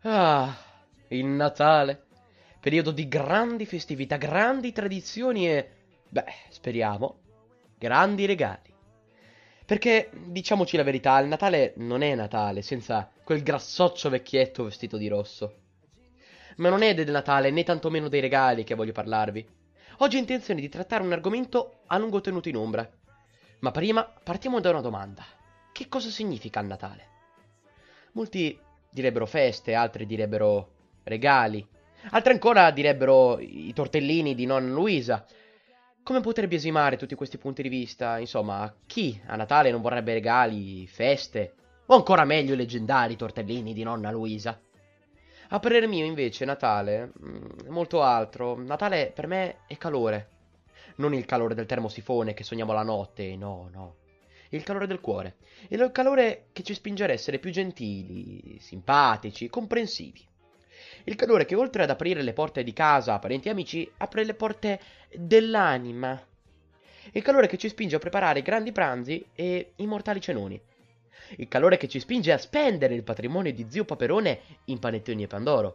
Ah, il Natale. Periodo di grandi festività, grandi tradizioni e, beh, speriamo, grandi regali. Perché, diciamoci la verità, il Natale non è Natale senza quel grassoccio vecchietto vestito di rosso. Ma non è del Natale né tantomeno dei regali che voglio parlarvi. Oggi ho intenzione di trattare un argomento a lungo tenuto in ombra. Ma prima partiamo da una domanda. Che cosa significa il Natale? Molti direbbero feste, altri direbbero regali, altri ancora direbbero i tortellini di nonna Luisa. Come poter biasimare tutti questi punti di vista? Insomma, chi a Natale non vorrebbe regali, feste, o ancora meglio i leggendari tortellini di nonna Luisa? A parer mio, invece, Natale è molto altro. Natale per me è calore. Non il calore del termosifone che sogniamo la notte, no, no. Il calore del cuore. Il calore che ci spinge ad essere più gentili, simpatici, comprensivi. Il calore che oltre ad aprire le porte di casa a parenti e amici, apre le porte dell'anima. Il calore che ci spinge a preparare grandi pranzi e immortali cenoni. Il calore che ci spinge a spendere il patrimonio di zio Paperone in panettoni e pandoro.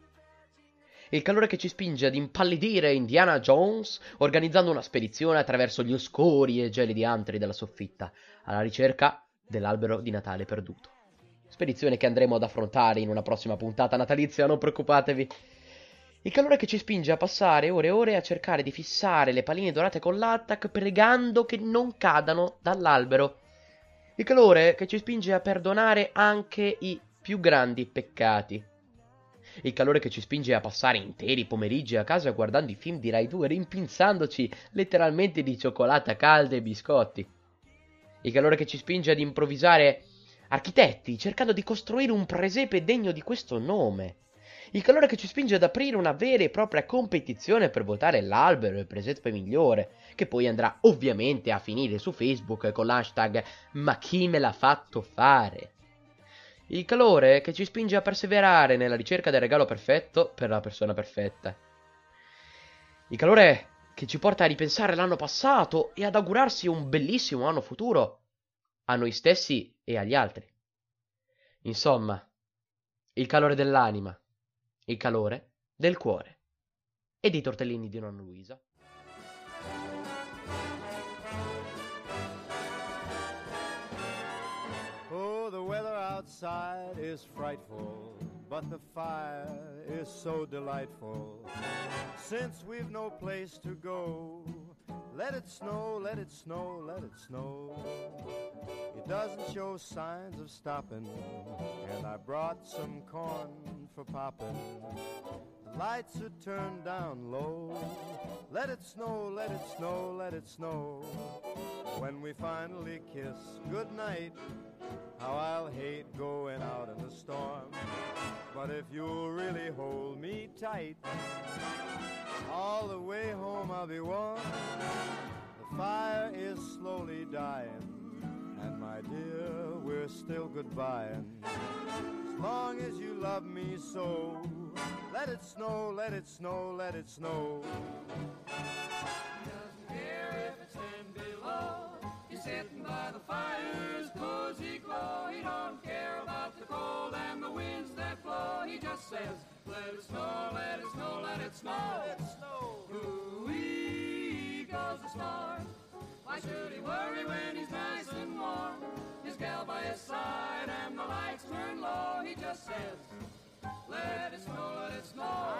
Il calore che ci spinge ad impallidire Indiana Jones organizzando una spedizione attraverso gli oscuri e gelidi antri della soffitta, alla ricerca dell'albero di Natale perduto. Spedizione che andremo ad affrontare in una prossima puntata natalizia, non preoccupatevi. Il calore che ci spinge a passare ore e ore a cercare di fissare le palline dorate con l'attack pregando che non cadano dall'albero. Il calore che ci spinge a perdonare anche i più grandi peccati. Il calore che ci spinge a passare interi pomeriggi a casa guardando i film di Rai 2, rimpinzandoci letteralmente di cioccolata calda e biscotti. Il calore che ci spinge ad improvvisare architetti, cercando di costruire un presepe degno di questo nome. Il calore che ci spinge ad aprire una vera e propria competizione per votare l'albero e il presepe migliore, che poi andrà ovviamente a finire su Facebook con l'hashtag "Ma chi me l'ha fatto fare?". Il calore che ci spinge a perseverare nella ricerca del regalo perfetto per la persona perfetta. Il calore che ci porta a ripensare l'anno passato e ad augurarsi un bellissimo anno futuro a noi stessi e agli altri. Insomma, il calore dell'anima, il calore del cuore e dei tortellini di nonna Luisa. Oh, the weather outside is frightful, but the fire is so delightful. Since we've no place to go, let it snow, let it snow, let it snow. It doesn't show signs of stopping, and I brought some corn for popping. The lights are turned down low. Let it snow, let it snow, let it snow. When we finally kiss goodnight, how I'll hate going out in the storm. But if you'll really hold me tight, all the way home I'll be warm. The fire is slowly dying, and my dear, we're still goodbying. As long as you love me so, let it snow, let it snow, let it snow. He doesn't care if it's 10 below. He's sitting by the fire's cozy glow. He don't care about the cold and the winds that blow. He just says, let it snow, let it snow, let it snow. Let it snow. Ooh-wee goes the storm. Why should he worry when he's nice and warm? His gal by his side and the lights turn low. He just says, let it snow, let it snow.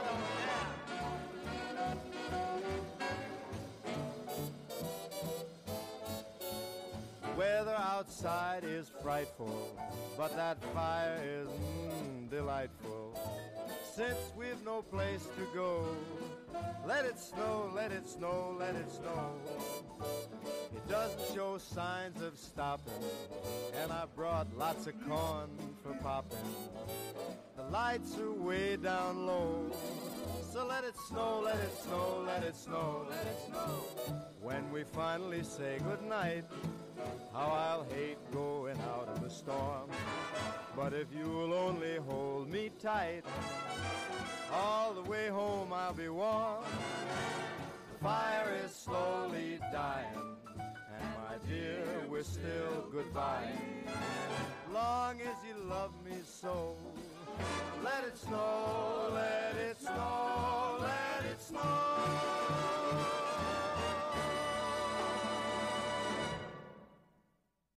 The weather outside is frightful, but that fire is delightful. Since we've no place to go, let it snow, let it snow, let it snow. It doesn't show signs of stopping, and I brought lots of corn for popping. The lights are way down low, so let it snow, let it snow, let it snow, let it snow. When we finally say goodnight, how I'll hate going out in the storm. But if you'll only hold me tight, all the way home I'll be warm. The fire is slowly dying, and my dear, we're still goodbye. Long as you love me so, Let it snow, let